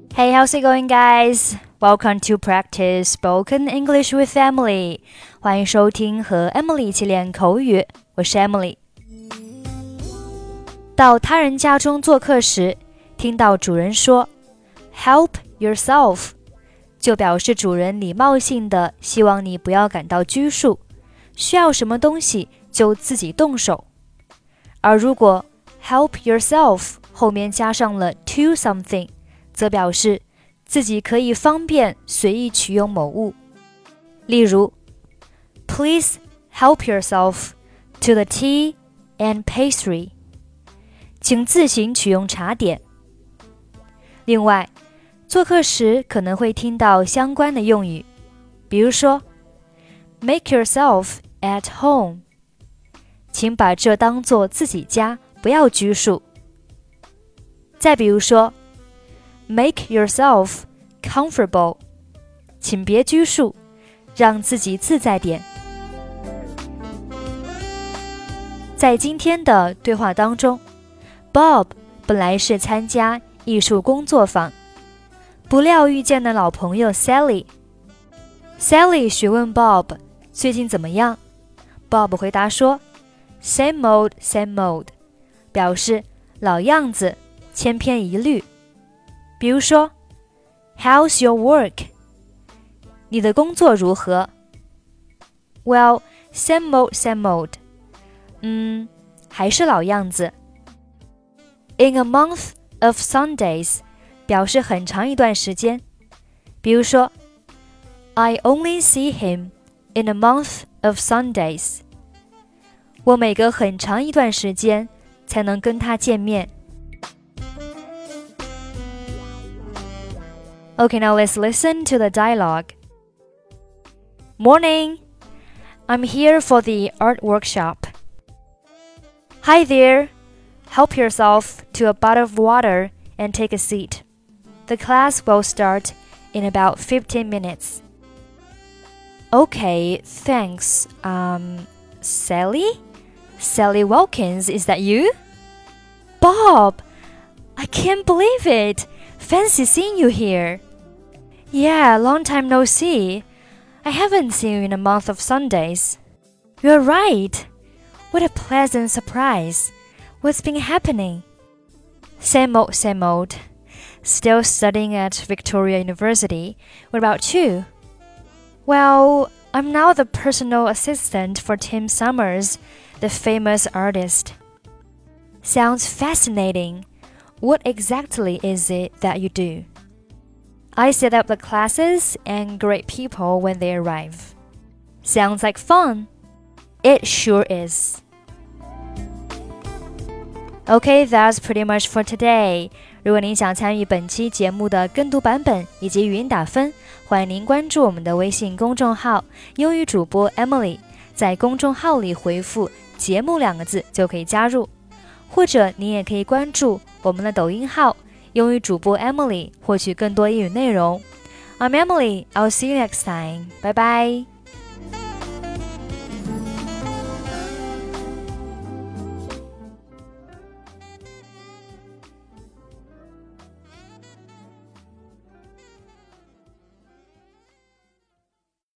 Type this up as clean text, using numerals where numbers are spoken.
Hey, how's it going, guys? Welcome to practice spoken English with Emily. 欢迎收听和 Emily 一起练口语，我是 Emily。到他人家中做客时，听到主人说 "Help yourself"， 就表示主人礼貌性的希望你不要感到拘束，需要什么东西就自己动手。而如果 "Help yourself" 后面加上了 to something，则表示自己可以方便随意取用某物。例如 Please help yourself to the tea and pastry. 请自行取用茶点。另外，做客时可能会听到相关的用语，比如说 Make yourself at home. 请把这当作自己家，不要拘束。再比如说Make yourself comfortable. 请别拘束，让自己自在点。在今天的对话当中， Bob 本来是参加艺术工作坊，不料遇见了老朋友 Sally。Sally 询问 Bob 最近怎么样， Bob 回答说 Same old, same old， 表示老样子，千篇一律。比如说 How's your work? 你的工作如何？ Well, same old, same old. 还是老样子。In a month of Sundays 表示很长一段时间。比如说 I only see him in a month of Sundays. 我每隔很长一段时间才能跟他见面。Okay, now let's listen to the dialogue. Morning. I'm here for the art workshop. Hi there. Help yourself to a bottle of water and take a seat. The class will start in about 15 minutes. Okay, thanks. Sally? Sally Wilkins, is that you? Bob! I can't believe it. Fancy seeing you here.Yeah, long time no see. I haven't seen you in a month of Sundays. You're right. What a pleasant surprise. What's been happening? Same old, same old. Still studying at Victoria University. What about you? Well, I'm now the personal assistant for Tim Summers, the famous artist. Sounds fascinating. What exactly is it that you do?I set up the classes and greet people when they arrive. Sounds like fun. It sure is. Okay, that's pretty much for today. 如果您想参与本期节目的跟读版本以及语音打分，欢迎您关注我们的微信公众号英语主播 Emily， 在公众号里回复节目2个字就可以加入，或者您也可以关注我们的抖音号英语主播 Emily 获取更多英语内容。I'm Emily. I'll see you next time. Bye bye.